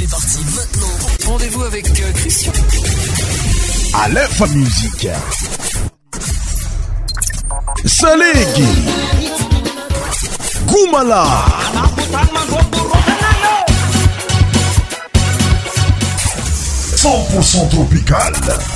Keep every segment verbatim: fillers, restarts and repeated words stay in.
C'est parti maintenant. Rendez-vous avec euh, Christian. Aleph Musique. Salegi. Goumala. cent pour cent tropical.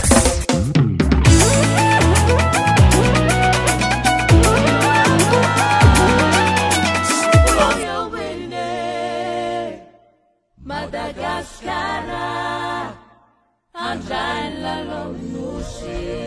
Madagascar, andrai la lonusi.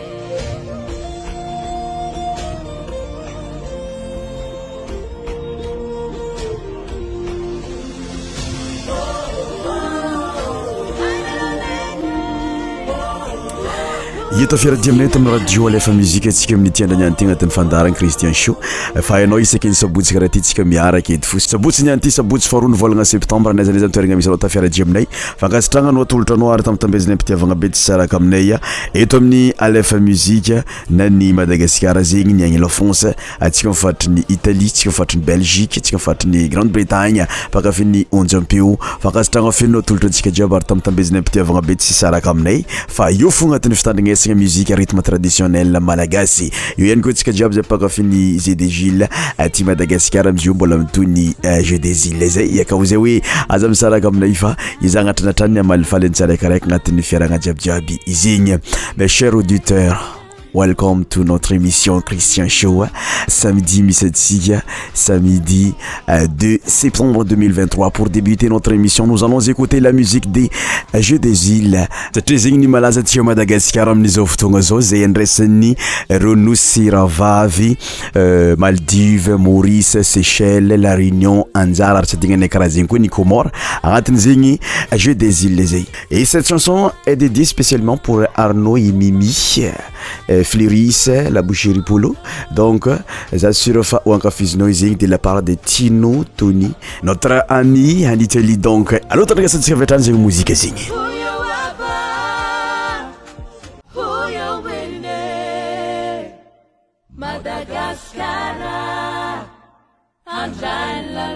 Ito fiaradia-aminay tamin'ny radio Aleph Musique atsika amin'ny tiandra nianty agnatin'ny fandarana Christian Show. Fa hainao isaky ny sabotsy karaha ty tsika miaraka edy fo. Sabotsy nianty sabotsy faharoa ny volagna septembre naiza naiza toeragna misy anao tafiaradia aminay. Fankasitragna anao atolotranao ary tambitambezinay mpitiavagna be tsy saraka aminay eto amin'ny Aleph Musique na ny Madagascar zegny ny agny Lafonce atsika mifatry ny Italie, tsika mifatry ny Belgique, tsika mifatry ny Grande-Bretagne, pakafy ny Onjampeo. Fankasitragna feno atolotransika jiaby ary tambitambezinay mpitiavagna be tsy saraka aminay. Fa io fo agnatin'ny fitandrignesagna musique rythme traditionnel malagasy. Io ihany koa tsika jiaby zay pakafy ny Jeux des Gilles aty Madagascar amizio mbola mitony Jeux des Gilles zay yakao zay hoe aza misaraka aminay fa iza agnatranatrany amalifaly tsaraikaraiky agnatin'ny fiaragna jiabijiaby izegny. Mes chers auditeurs, welcome to notre émission Christian Show. Samedi mi-septembre, samedi euh, deux septembre deux mille vingt-trois. Pour débuter notre émission, nous allons écouter la musique des Jeux des Îles. Satria zegny ny malaza tia Madagascar amin'izao fotoagna zao zay andraisan'ny Ronosy Ravavy, euh, Maldives, Maurice, Seychelles, La Réunion, Anjara ary tsy adignanay karaha zegny koa ny Comores agnatin' zegny Jeux des Îles zay. Et cette chanson est dédiée spécialement pour Arnaud et Mimi, euh, Fleris, la boucherie Polo. Donc, j'assure fa ou ankafizinao zegny de la part de Tino Tony, notre ami en Italie. Donc, alors t'as regardé cette version de musique zegny. Madagascar, andrai la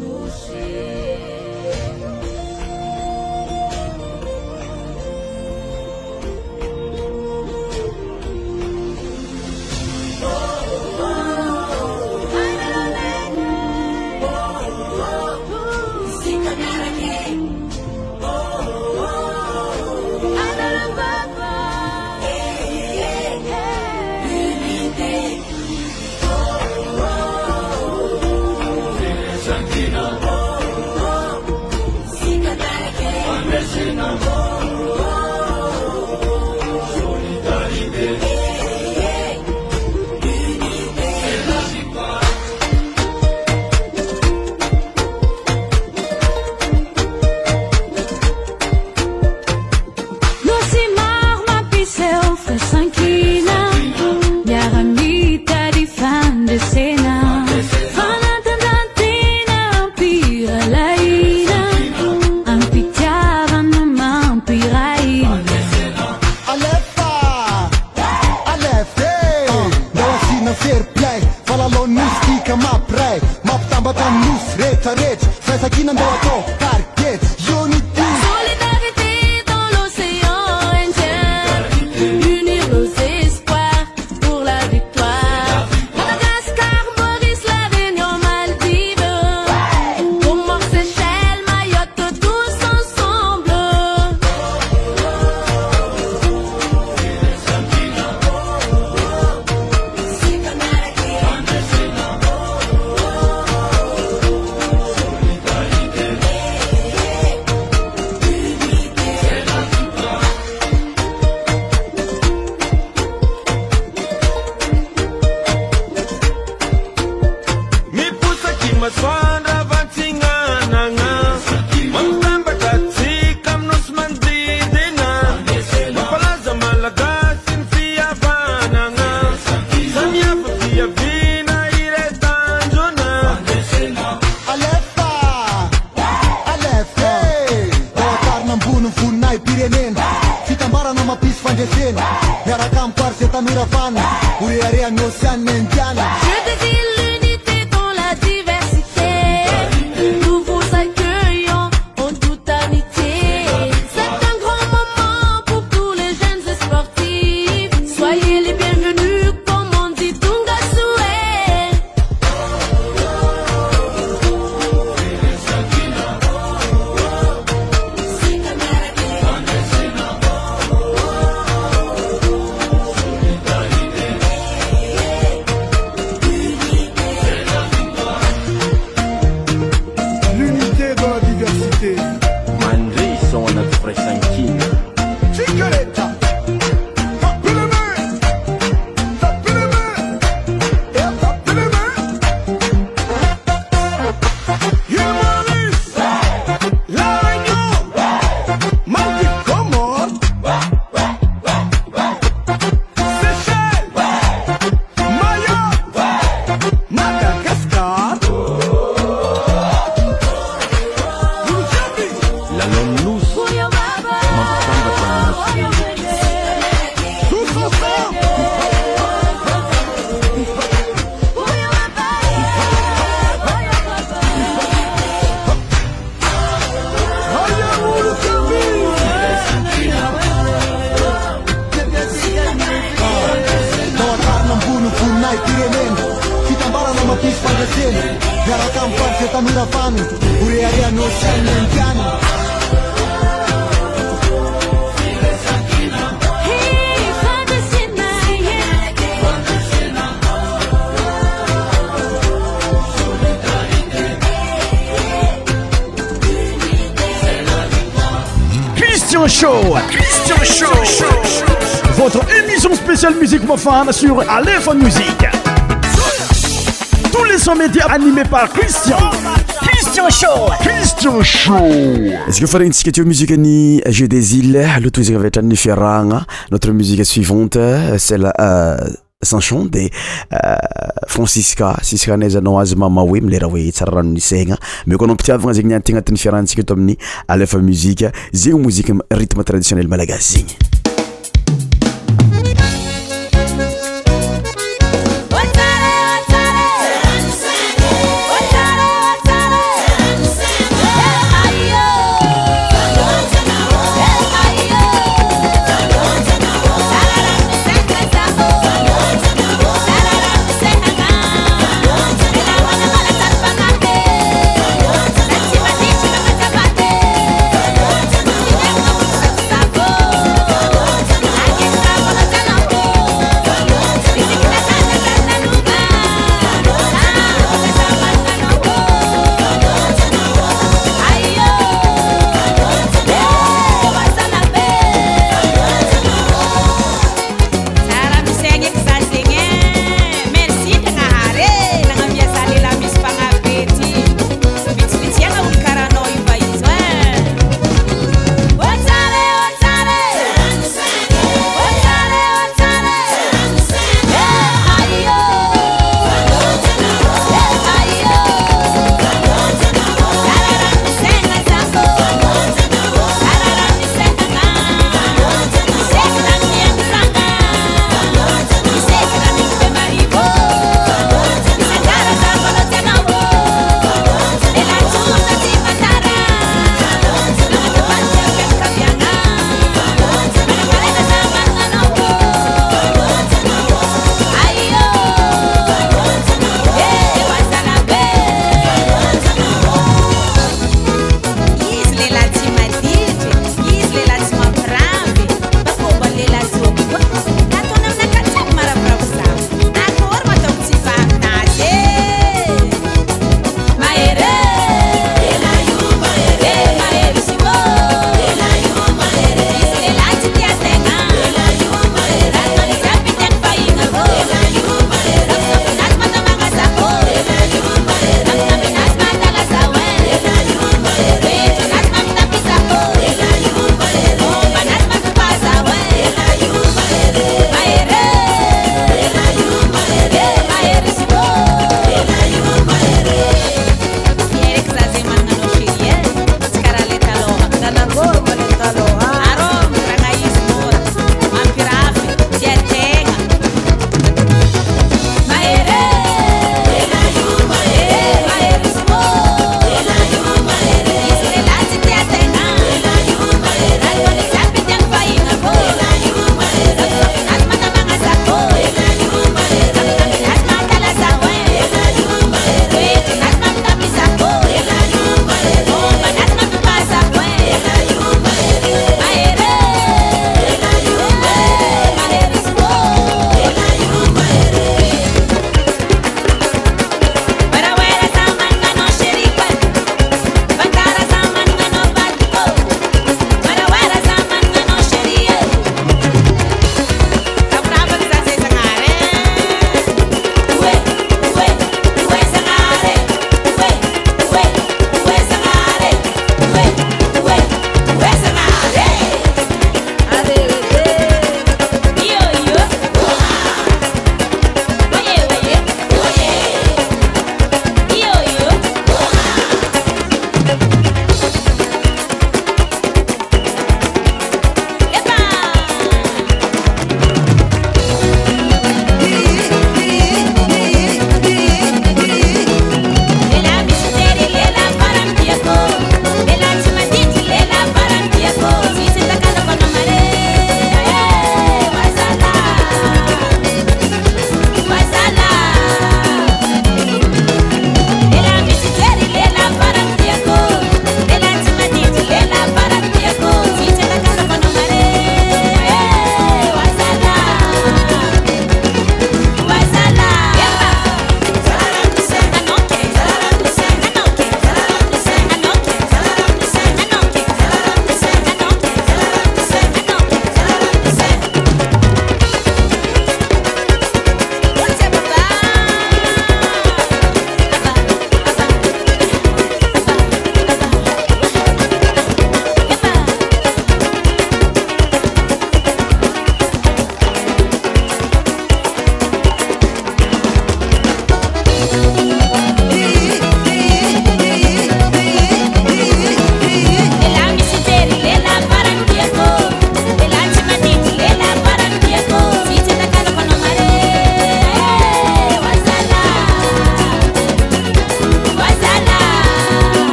lonusi. L'unité dans la diversité, nous vous accueillons en toute amitié. Mandri sont notre pressanchine. Chicareta. Show, Christian Show, votre émission spéciale musique profane sur Aléphone Musique. Tous les sons médias animés par Christian. Christian Show, Christian Show. Est-ce que vous ferez une petite musique ni Jeu des îles, le tout est avec Ferranga. Notre musique suivante, c'est la euh, Sanchon de euh, Francisca, Siska Nezano Azmama Wim, les Rawi Tsaran Nisenga. Mais quand on peut avoir un ignatin à Tinferanci que Tomni, à l'Efa Musique, c'est une musique rythme traditionnel malagasy. Oh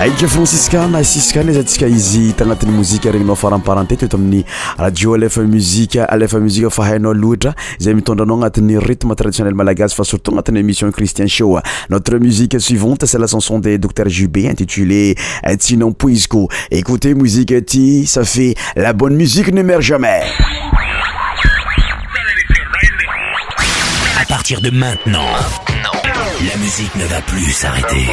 aika franciscana siskana izatsika izy tagnatin'ny mozika regninao faramparanté toeto amin'ny radio alefa musique alefa musique fa hainao loatra izay mitondranao agnatin'ny rythme traditionnel malagasy fa surtout agnatin'ny émission Christian Show. Notre musique suivante c'est la chanson de Docteur Jubé intitulée Tinon Puisco. Écoutez musique ti, ça fait la bonne musique ne meurt jamais. À partir de maintenant, la musique ne va plus s'arrêter.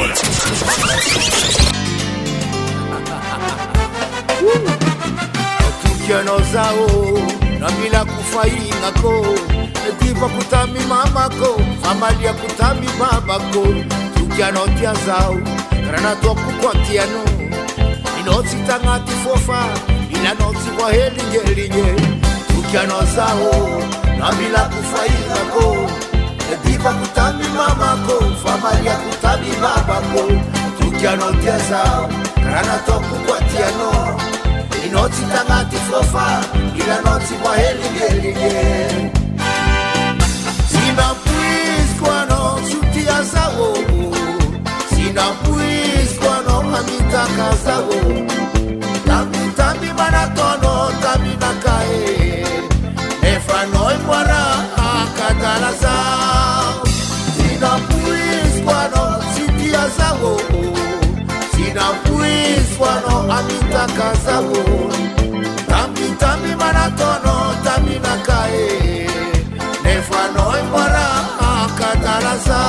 Tukianozao na bila kufaingako Netipa kutami mamako Familia kutami babako Tukianotia zao Karana toku kwa tiano Inoti tangati fofa Ina noti kwa helinye linye Tukianozao na bila kufaingako Netipa kutami mamako Familia kutami babako Tukianotia zao Karana toku kwa tiano Inoti tangati fofa Ila noti kwa helinye Sina puis kwa no sutia zao Sina puis kwa no amita kazao Tambi tambi manatono tambi nakae Nefanoi mwana akatala zao Sina puis kwa no sutia zao Sina puis kwa no amita kazao Tambi tambi manatono tambi nakae Nefano imara akatarasa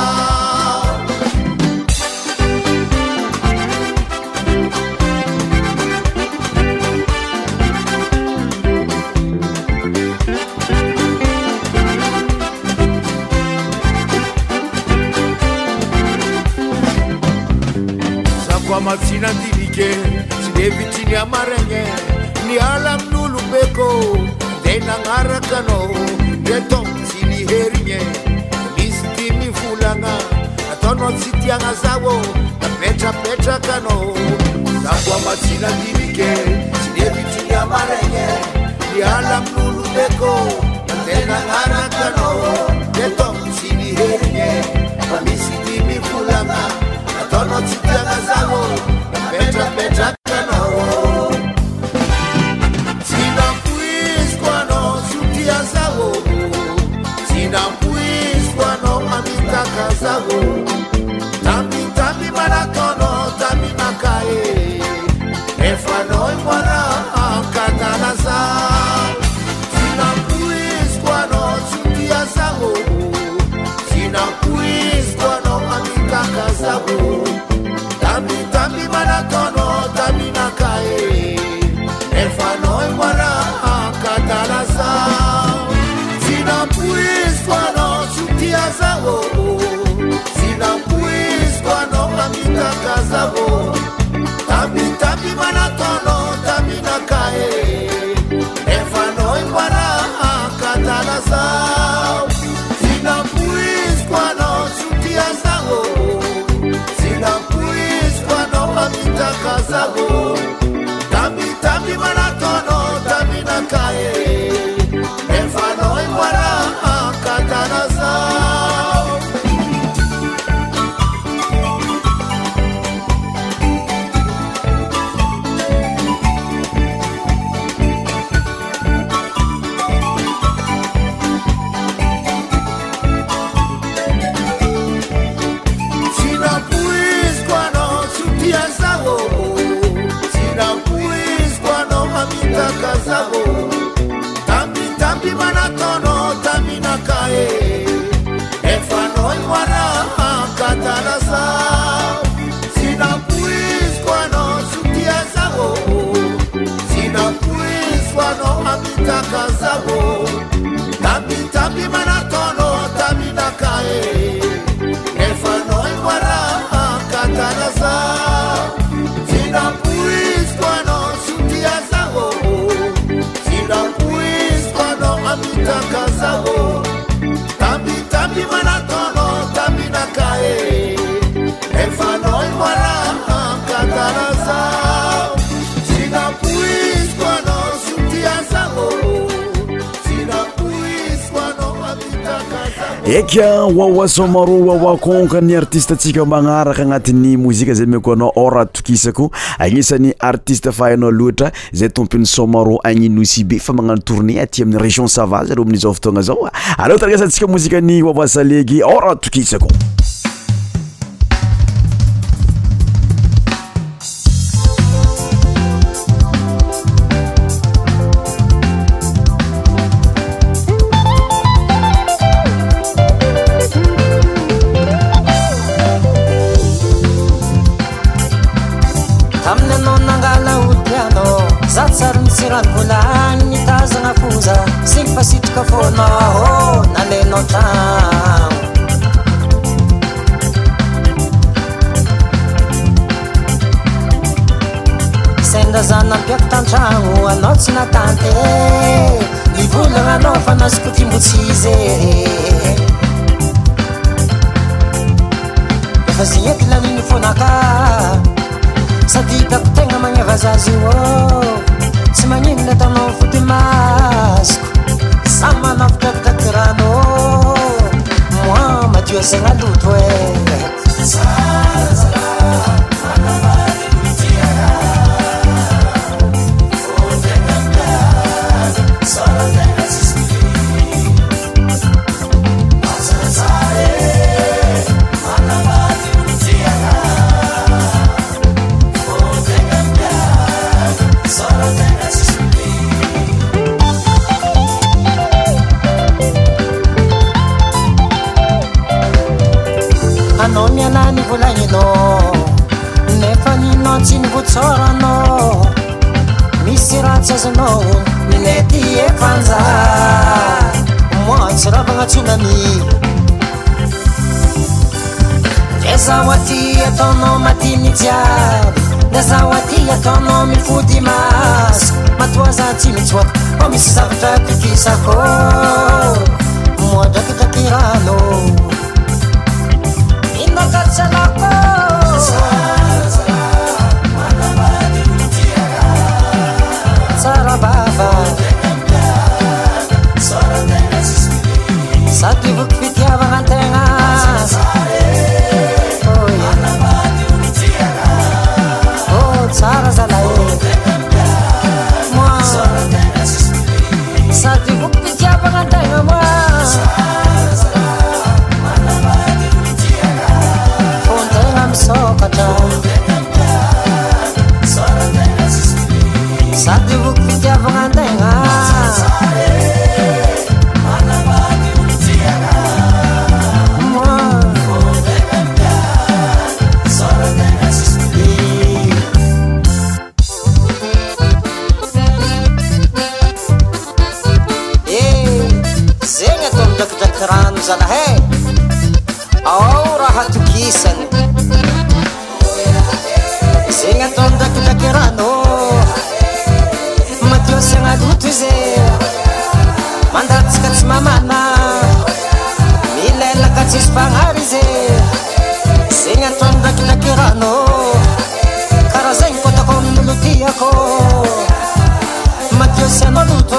Sakwa matsina ndivike Sidevitini amarenge Ni alam nulubeko Dena ngarakano Yeto herinye Listi mifulanga Atono sitianga zawo Na petra petra kano Zakwa matina divike Sineviti ya marenye Liala mnulu beko Natena ngara kano Yeto sini herinye Listi mifulanga Atono sitianga zawo Na petra petra kano Sina puis kwa no sutia zawo Sina puis kwa no amita kazao Tambi tambi maratono tambi nakae Efano imwana akatana zao Sina puis kwa no sutia zao Sina puis kwa no amita kazao Tambi tambi maratono tambi nakae Efano imwana akatana zao Sina puis kwa no sutia zao Sina puis kwa no amita kazao Tabi tabi manatono tabi nakae Efano imwana akatana zao Sina puis kwa no sutia zao Sina puis kwa no amita kazao Tabi tabi manatono tabi nakae Efano imwana akatana zao Sina puis kwa no sutia zao Sina puis kwa no amita kazao Tambi tambi manatono tambi nakae Efano imwana akatana zao Sina puis kwa no sutia zao Sina puis kwa no amita kazao Tambi tambi manatono tambi nakae Efano imwana akatana zao Sina puis kwa no sutia zao Sina puis kwa no amita kazao Tambi tambi manatono tambi nakae Efano imwana akatana zao Sina puis kwa no sutia zao Sina puis kwa no amita kazao eka wawa somaro wawa konka ny artiste atsika magnaraka agnatin'ny mozika zay meko anao ora tokisako agnisan'ny artiste fahainao loatra zay tompony somaro agninosy be fa magnano tournée aty amin'ny région Sava zaro amin'izao fotoagna zao aleo taragesantsika mozika ny wawa salegy ora tokisako Volany mitazagna foza sy fasitraka fonao nalenao tragno sendra zana ampiako tantragno anao tsy natante mivolagna anao fa nazoko timbotsy izy efa zy ety laniny fonaka sady hitako tegna magneva zazy io tsy magnino atanao foty masoko samy manavitravitaka rano moi madio zegna loto e anao mialany volagninao nefa ninao tsy nivotsôranao misy ratsy azonao minety efanja moi tsy ravagna tsunami de zaho aty ataonao matiny jiaby de zaho aty ataonao mifody maso matoa za tsy mitsoaka fa misy zavatra tokisako moi drakidraky rano Nakatsalako Tsara baba Sady voky fitiavagna antegna Oh tsara zalahy Moi Sady voky fitiavagna antegna moi sokatra sady voky fitiavagna antegna zegny atao midrakidraky rano zalahy ao raha tokisany zegny atao midrakidraky rano madio asiagna loto izy mandatsika tsy mamana milelaka tsisy fagnary izy zegny atao midrakidraky rano karaha zegny kotako amin'ny melodiako madio asiagna loto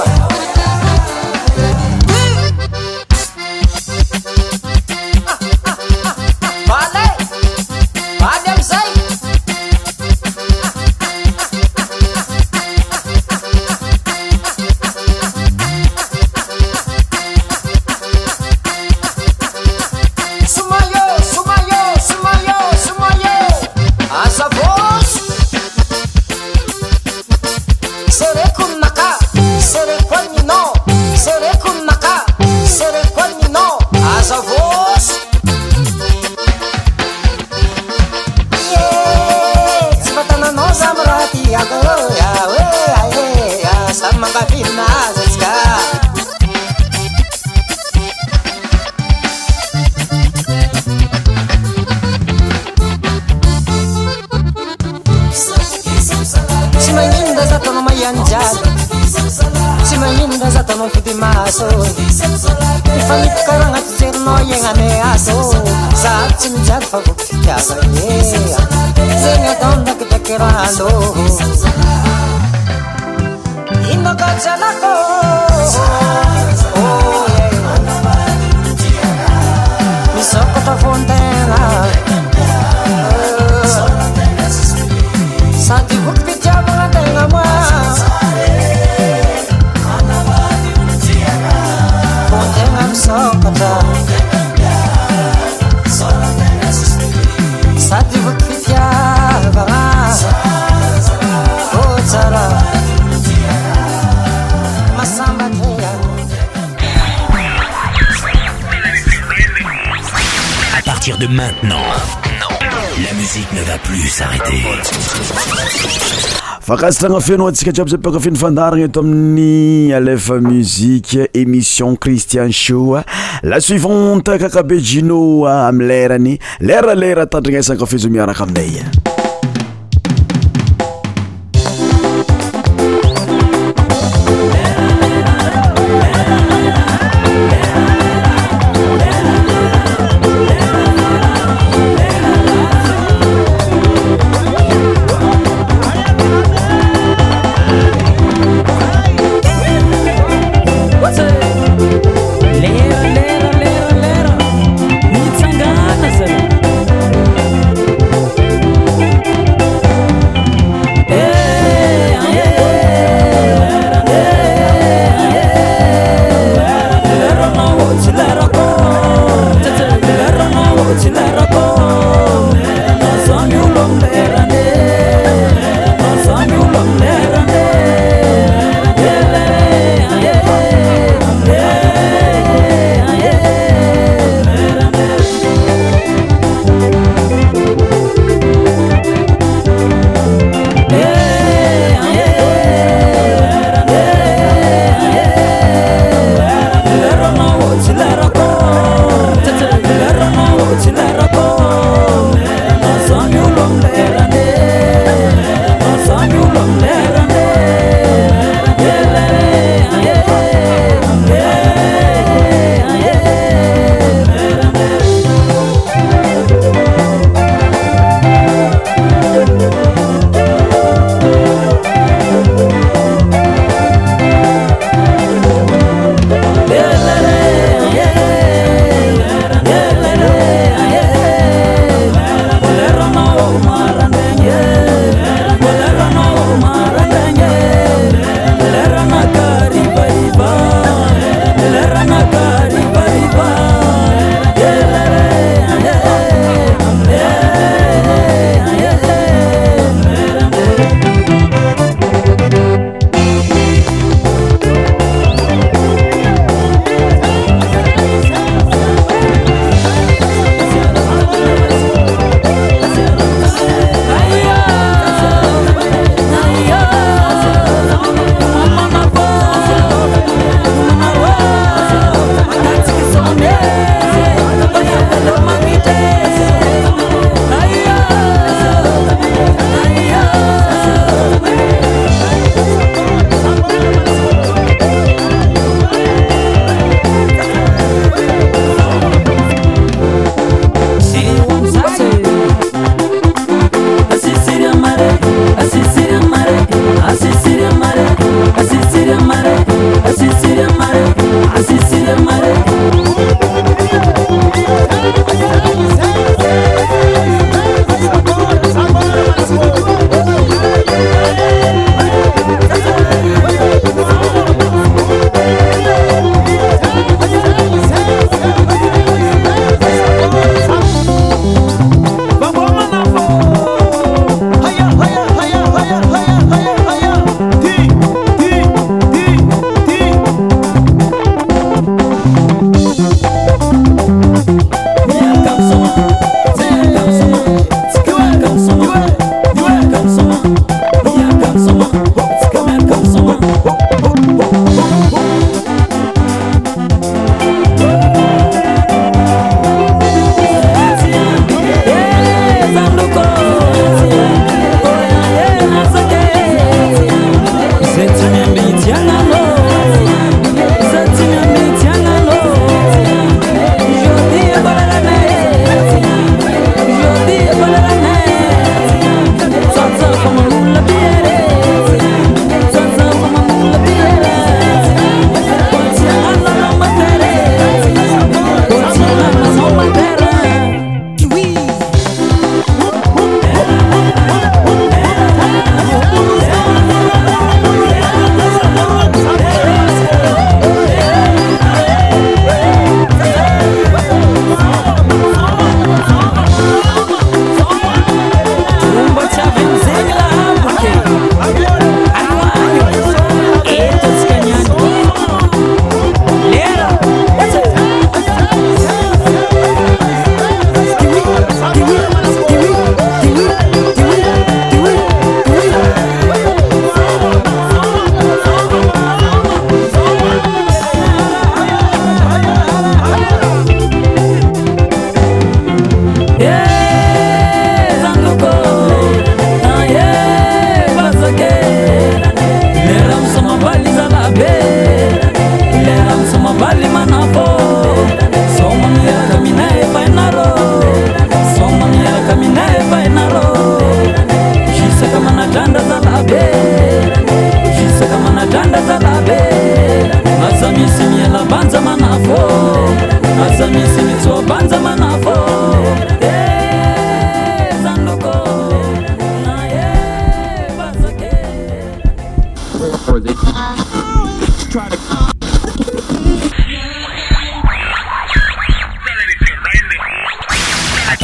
tsy magnino za tanao fody maso mifanipaka agnaty jerinao iagnane aso za tsy mijaly fa voky fitiavagny zegny atao ndakidraky rano ino kajalako partir de maintenant, la musique ne va plus s'arrêter. Fakasitragna feno atsika jiaby zay mpakafiny fandaragna eto amin'ny Alefa Musique émission Christian Show. La suivante Kakabe Gino amin'ny lerany lera lera tandrignesana kafe zo miaraka aminay. Lera, lera, lera, lera, mitsangana zay.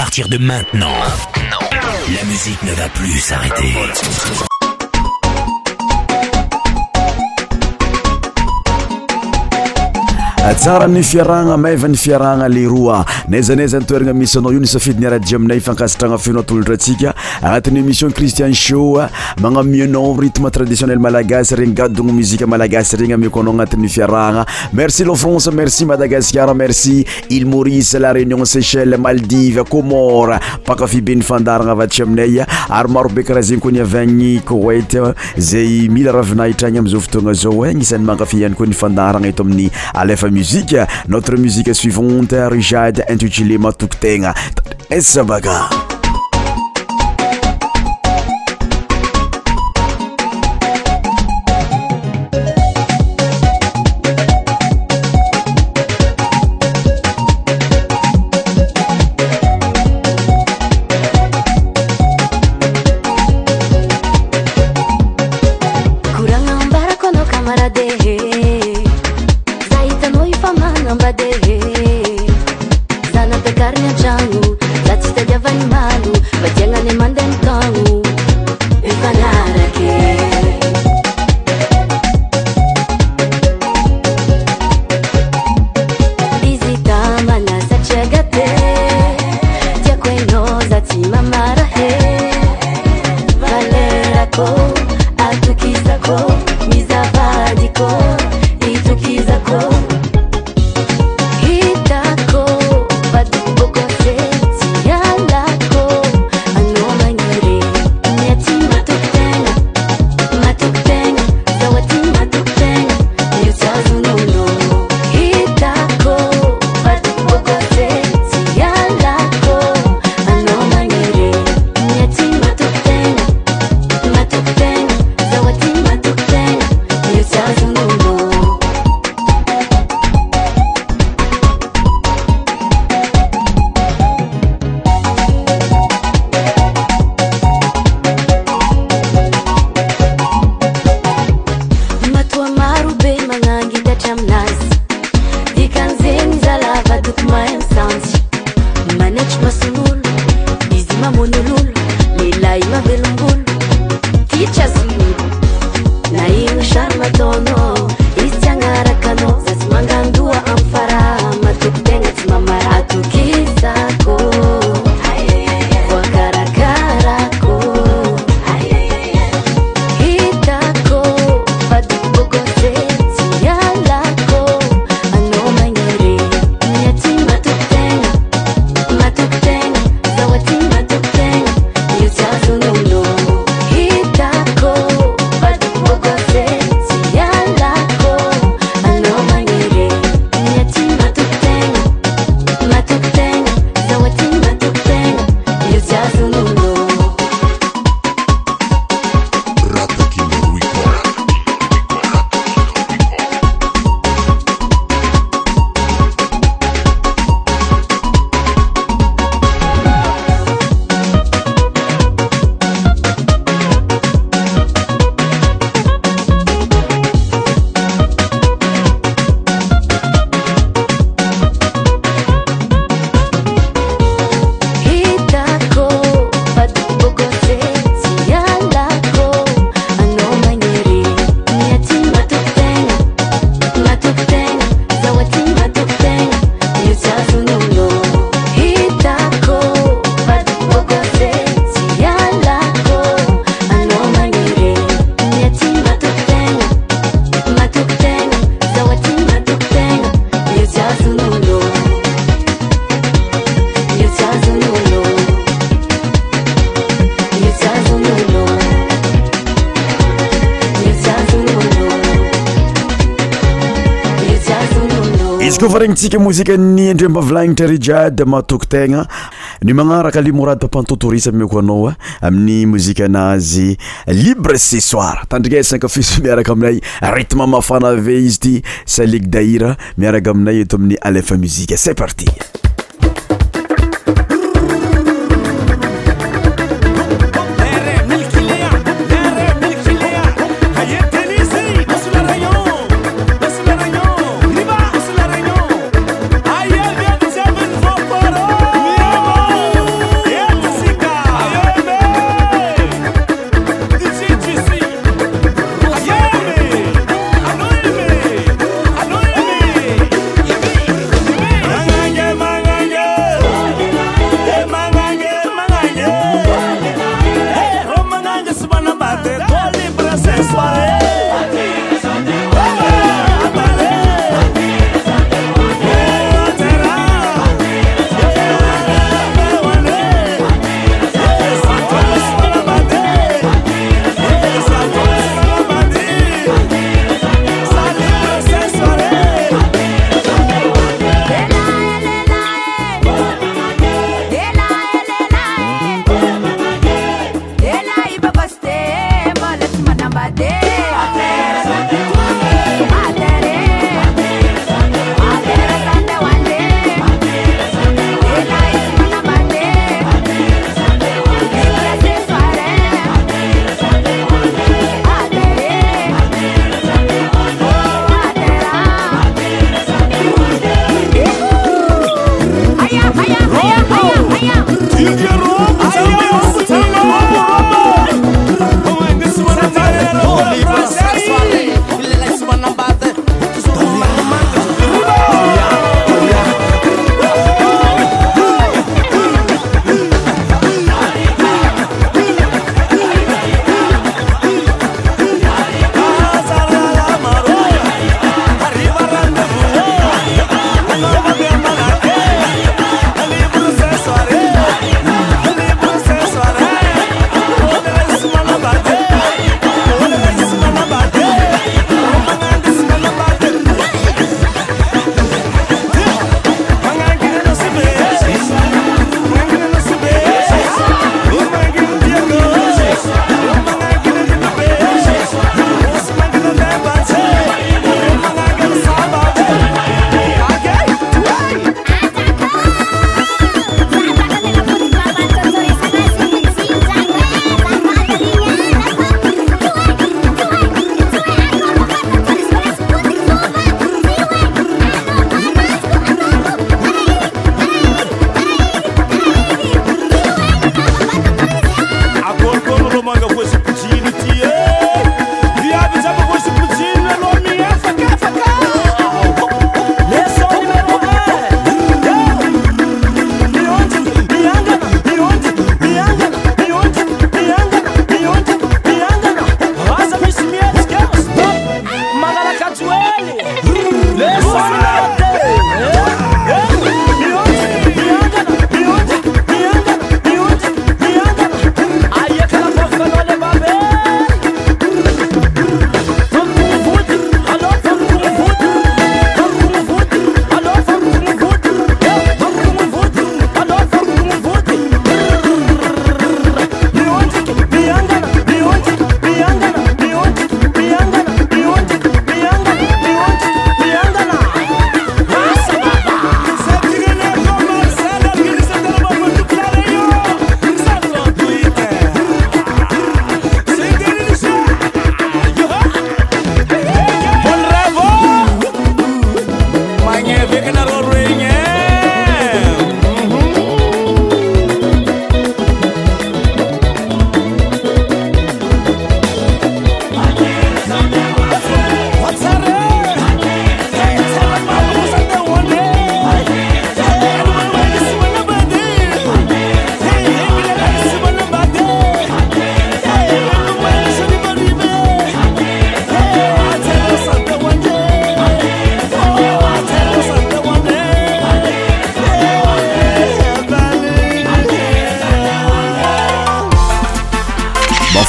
partir de maintenant, maintenant, la musique ne va plus s'arrêter. Tsara ny fiaragna maeva ny fiaragna leroa naizanaiza ny toeragna misy anao io ny safidy ny radio aminay fankasitragna feno atolotratsika agnatin'ny émission Christian Show magnamianao rythme traditionnel malagasy regny gadogno musique malagasy regny ameko anao agnatin'ny fiaragna. Merci la France, merci Madagascar, merci Île Maurice, la Réunion, Seychelles, Maldives, Comores, pakafy be ny fandaragna avatry aminay ary maro be karaha zegny koa ny avy agny Koweït zay mila ravinahitra agny am'izao fotoagna zao agnisan'ny mankafy ihany koa ny fandaragna eto amin'ny Alefa Musique. Notre musique suivante, Rijad, intitulée Matuktenga. Esabaga. Izy regnintsika mozika ny Andriambavalagnitra Rijad Matoktegna ny magnaraka Limorady Pampantotorisa mioko anao amin'ny mozika anazy Libre ce soir. Tandrigesaka fiso miaraka aminay rythme mafana ve izy ty Salik Daïra miaraka aminay eto amin'ny Alefa Musique. C'est parti. Aïe, viens nous amener fort.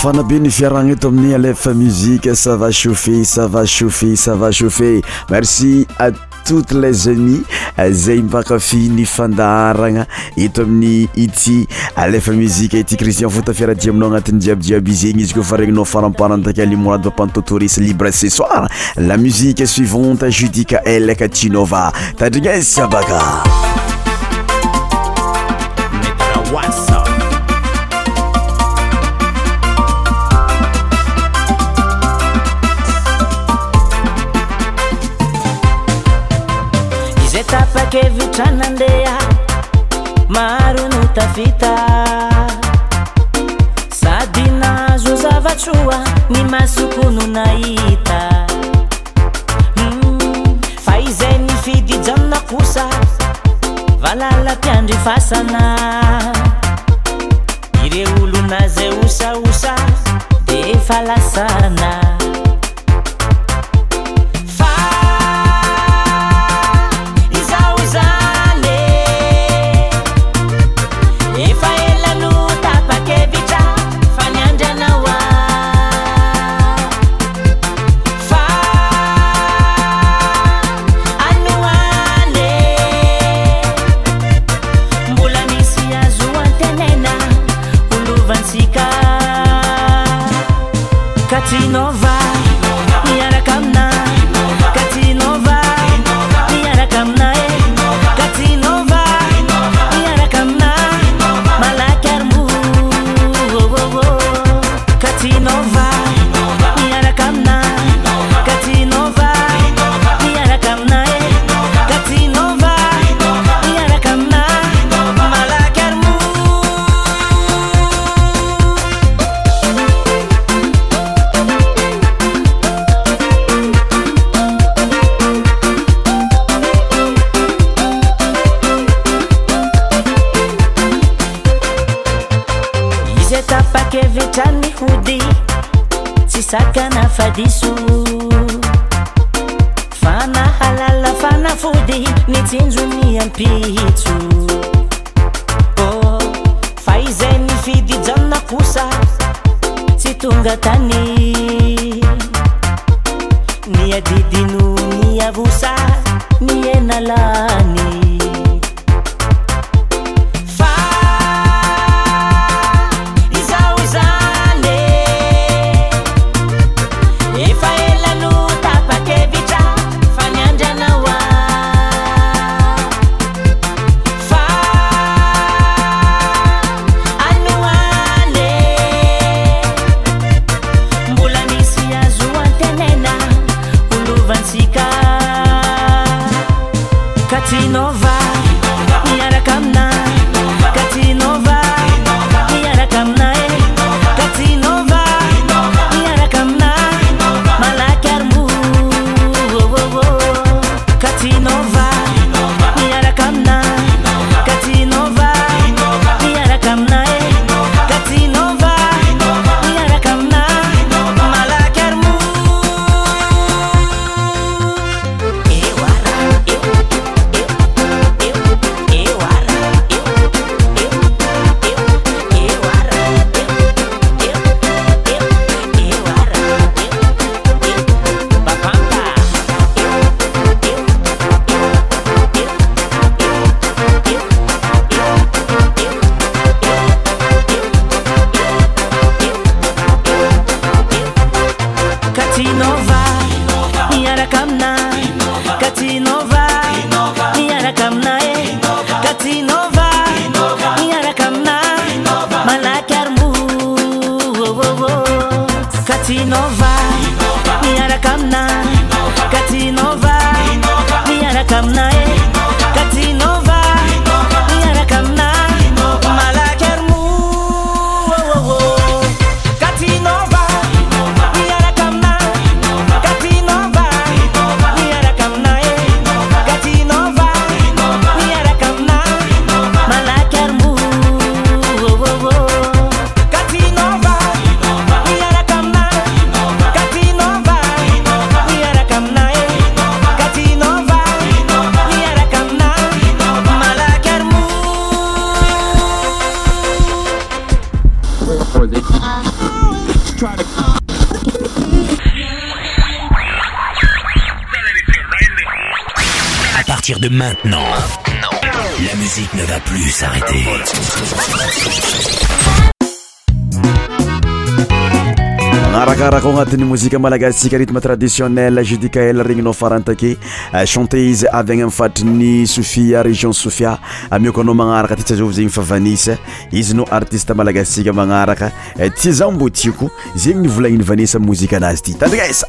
mafana be ny fiaragna eto amin'ny Alefa Musique. Ça va chauffer, ça va chauffer, ça va chauffer. Merci à toutes les amis zay mpakafy ny fandaragna eto amin'ny ity Alefa Musique ity Christian Fota fiaradia aminao agnatin'ny jiabijiaby zegny izy koa fa regninao faramparantaka limonade papantotoris libre ce soir. La musique suivante Judika El Katinova tadrignes baka Vitranandea maro no tafita sady nazo zavatroa ny masoko no nahita mm, fa izay nifidy janona kosa valala mpiandry fasana ire olona zay osaosa de falasana Katinova, niara kamna. Katinova, niara kamna. Katinova, niara kamna. Malakarmu, Katinova, niara kamna. Katinova, niara kamna. Katinova, niara kamna. Malakarmu. Tapake vitani hudi sisaka na fadisu fana halala fana fudi nitinzu ni ampitu oh faize ni fidi janna kusa situnga tani ni adidinu ni avusa ni enalani Katinova, niara kamna. Katinova, niara kamna. Katinova, niara kamna. Malakarmu, Katinova, niara kamna. Katinova, niara kamna. Katinova, niara kamna. Malakarmu. Katinova, niara kamna. Katinova, niara kamna. Katinova, niara kamna. Malakarmu, Katinova, niara kamna. Katinova, niara kamna. Katinova, niara kamna. Malakarmu, Katinova, niara kamna. Katinova, niara kamna. Katinova, niara kamna. Malakarmu, Katinova, niara kamna. Katinova, niara kamna. Katinova, partir de maintenant, la musique ne va plus s'arrêter. Arakaraka agnatin'ny mozika malagasitsika rythme traditionnel J D K L regninao farantake chanté izy avy agny amin'ny fatrin'ny Sofia région Sofia amioko anao magnaraka ty tsy azovy zegny fa Vanessa izy no artiste malagasitsika magnaraka ty zao mbô tiako zegny nivolagniny Vanessa mozika anazy ty tandrigesa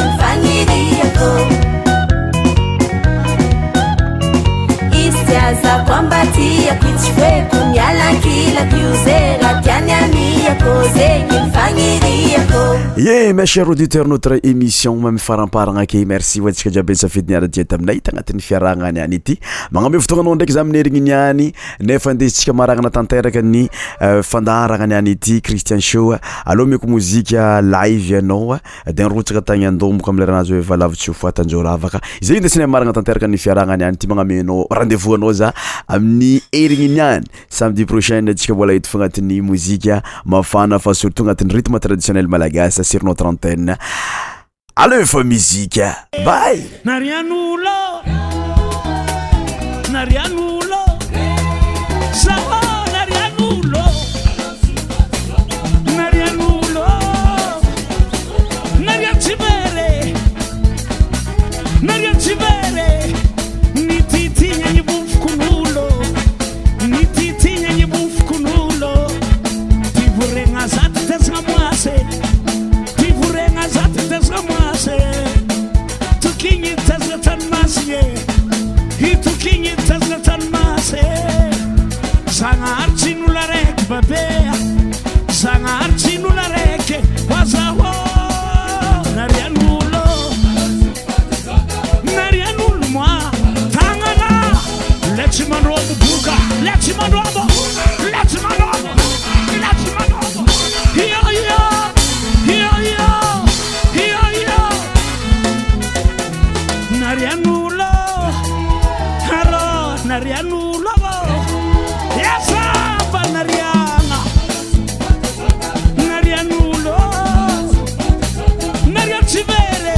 Yes, Tonga kwamba tia kichwe kunyala kila kiuzera tiani ania koze kimfanyiria ko. Yeah, mes chers auditeurs, notre émission même faramparagna ke merci watsika jiaby safidy niara dia taminay tagnatin'ny fiarahana niany ity. Magname fotoagnanao ndraiky za minerigny niany nefa ndesitsika maragna tanteraka ny fandaragna niany ity Christian Show. Allo meko muzika live anao dia rotsaka tagny andomboka amle ranazy hoe valavitsy ho fatanjoravaka. Izay ndesina maragna tanteraka ny fiarahana niany ity magnamenao rendez-vous anao za amin'ny erigny niany samedi prochain tsika mbola hety fognatin'ny muzika mafana fa surtout agnatin'ny rythme traditionnel malagasy sur notre antenne. Allez, faut musique. Bye. Narianulo. Narianulo. Sawa narianulo. Narianulo. Nariachibere. Nariachibere. Nititi nyenye bufkunulo. Nititi nyenye bufkunulo. Tivurenga zati tesamwase. Tivurenga zati tesamwase. Tukinyi tezatan masye. Hi tukinyi tezatan mase. Sanga archinu la rek babea. Sanga archinu la rek wazawo. Narianulo. Narianulo mwa. Tangana. Let's man robo buka. Let's man robo. Let's man robo. Let's man robo. Hiya hiya. Hiya hiya. Hiya hiya. Narianulo. Haro. Narianulo. Yes, ba Nariana. Narianulo. Nariachivere.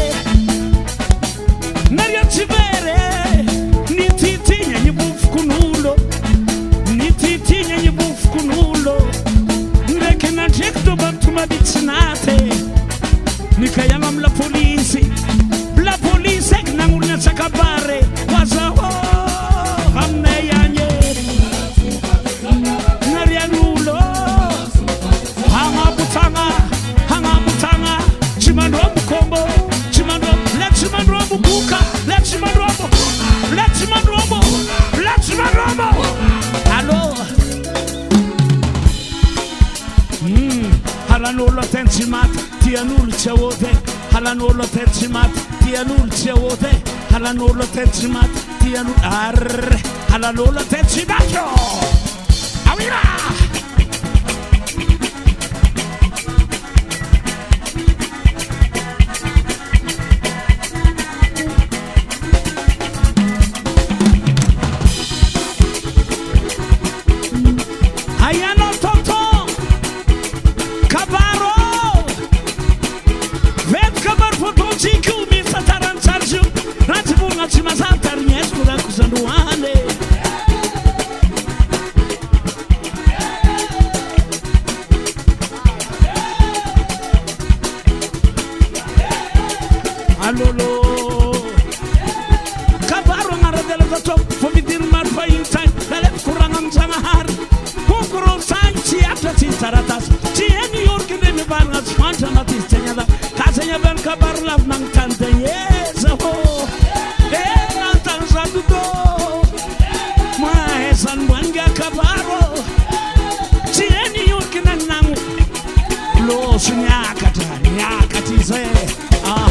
Nariachivere. Nititinya nyibufkunulo. Nititinya nyibufkunulo. Ndekena jekto bantuma bitsinate. Nikayama mla polisi. La polisi nangulnya sakabare. Wazaho. Hamne yanye. Narianulo. Hanga butanga. Hanga butanga. Chimando mkombo. Chimando. Let chimando buka. Let chimando. Let chimando. Let chimando. Allo. Mm. Halanolo tensimat. Tianul chawote. Halanolo tensimat. Tianul chawote. Halanolo tensimat. Tianul ar. Halanolo tensimato. Awira. Ayano toto. Kabaro. Vet kabar fotoci kumi sataran sarju. Ratibunga chimasantar nyeskura kusanduane. Alolo. Kabaro maradela zato fomidir marfa intai. Dalep kurangam samahar. Kukuro sanchi atati taratas. Tieni yorkine mi barngas fantanatis tenyada. Kasenya ben kabar lav nang tantanyeza ho. Eh nantan sadudo. Maesan wanga kabaro. Tieni yorkine nangu. Lo sunyakata nyakatize. Aha.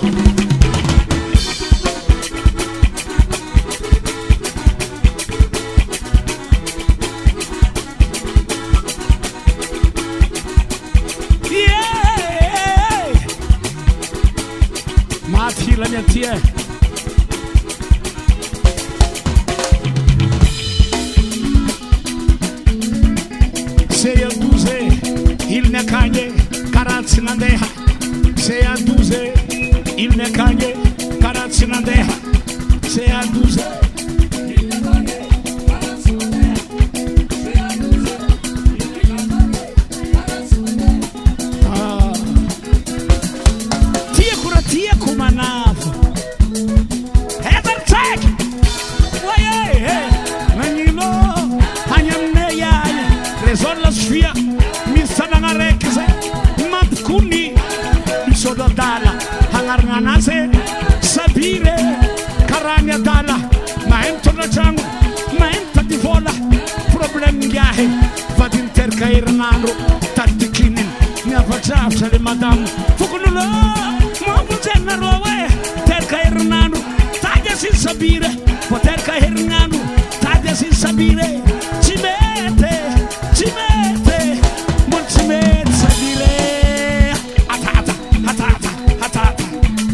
Yeah. Mati la mia tia. Sei a duze, il ne cagne, carazzi nandeha. Sei a duze, il ne cagne, carazzi nandeha. Sei a duze. Ah. Tia cura tia kumanavo. Heather tag. Waye, manino, hanyamne ya. Resola sfia, mi sana rekse, mapkuni, sodo dala, hangar nganase, sabire, karanya dala, ngiahe vadin terka herinandro tadikinin miafatrafitra le madamo fokonulo mamponjenareo e terka herinandro tady asiny sabire vo terka herinandro tady asiny sabire tsy mety tsy mety mbola tsy mety sabire atata atata atata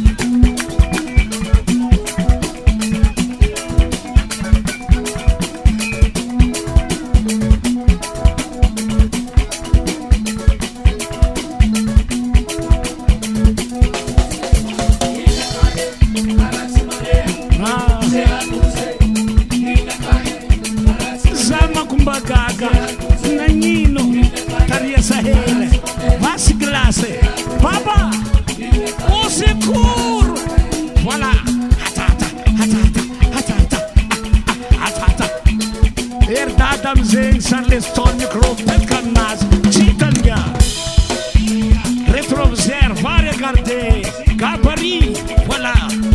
gaga nanino taria sahele vasi glace papa au secours voilà hatata hatata hatata hatata herdada amizegny sany lesitony micro petkannazy tsitanga rétroviseur va regarder gabarit voilà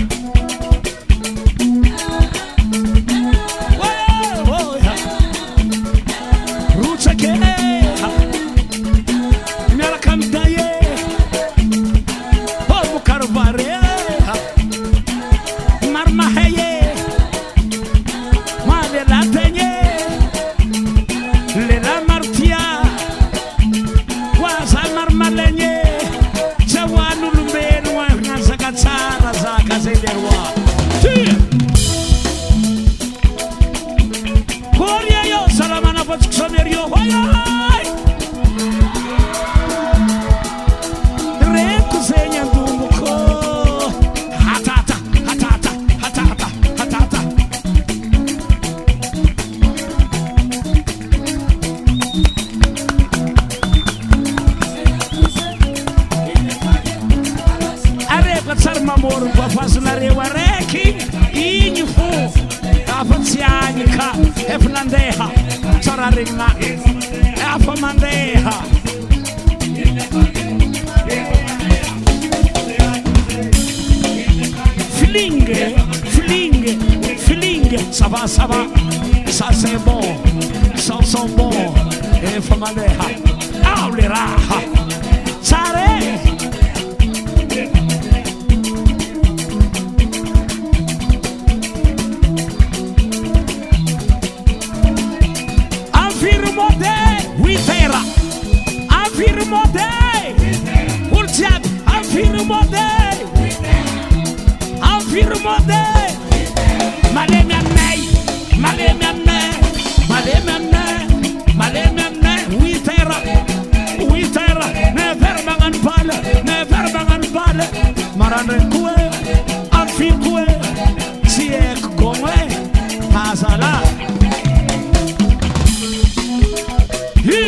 Ça va, ça va, ça c'est bon, ça sent bon, et famaleha, aulera, sare. Affirmo de, huitera, affirmo de, urtiat, affirmo de, affirmo de. Maleme amnei, maleme amnei, maleme amnei, maleme amnei. Huitera, huitera, ne verbangan pale, ne verbangan pale. Marane kue, afir kue, siek kome, hazala. Hi,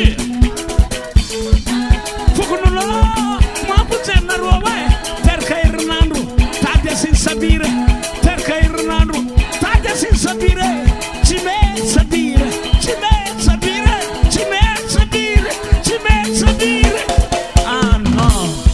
fukunulo, mapucena ruwe, terka Hernando, tade sin sabire, terka Hernando. Sin sapere, ci me sapere, ci me sapere, ci me sapere, ci me sapere. Ah no.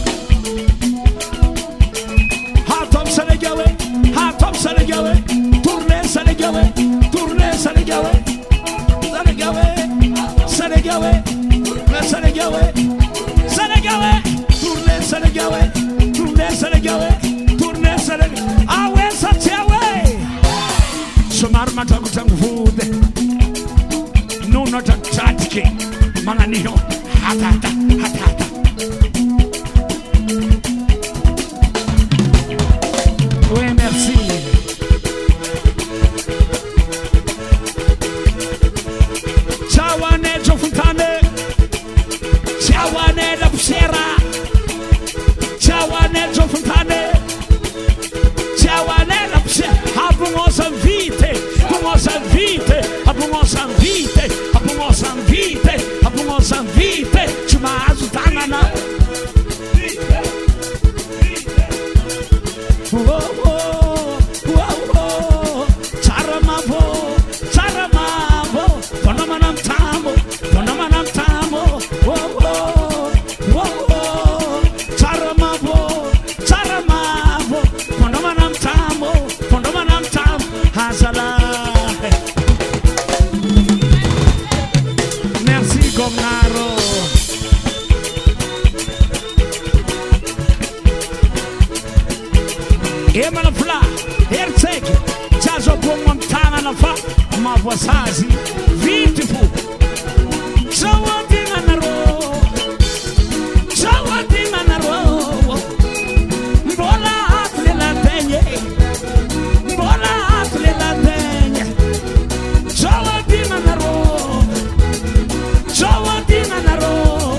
Hatom Senegawe, hatom Senegawe, tourne Senegawe, tourne Senegawe, Senegawe, Senegawe, Senegawe, Senegawe, tourne Senegawe, tourne Senegawe, tourne Senegawe. Ah ouais, ça tient ouais. Somarma tangu vude nuno tatike manganio hatata hatata oui merci ciawane Jofuntane ciawane la Pusera ciawane Jofuntane ciawane la Pusera abungosa vite abungosa vite abungosa vite abungosa vite abungosa vite chuma aminarô emana fla heritsaiky tsy azo abogno amy tagnana fa mavoasazy vity fo zao adignanarô zao adignanarô mbola ato le lategny mbola ato le lategny zao adignanarô zao adignanarô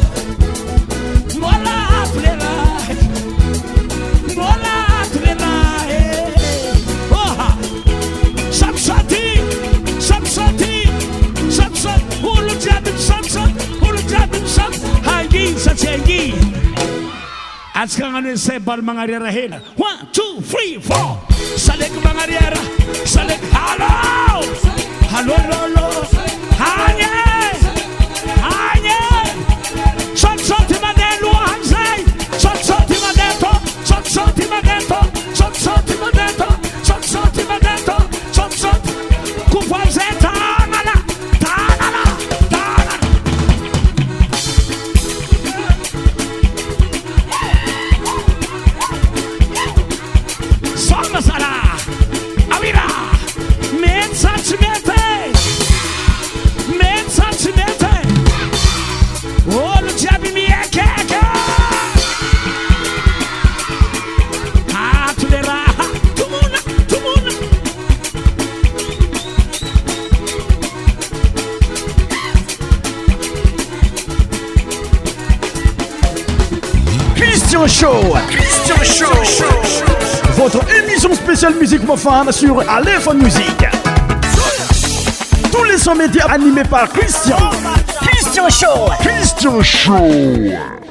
mbola ato le lahy mbola ato le lahy oha samsati samsati samsat olo jiaby samsat olo jiaby sam hangi satsi hangi atsika agnano hoe say baly magnariara hela one two three four saleky magnariara saleky halo halo lolo hagny hagny sotisoty mandeha lohany zay sotisoty mandeha to sotisoty mandeha to sotisoty mandeha to sotisoty mandeha to sotisoty kofa zay tagnana tagnana tagnana soma sara awira mety sa tsy mety mety sa tsy mety olo jiaby miekeka ato le raha tomona tomona Christian Show. Christian Show. Votre émission spéciale musique profane sur Aléphone Musique. Tous les sons médias animés par Christian. Christian Show. Christian Show.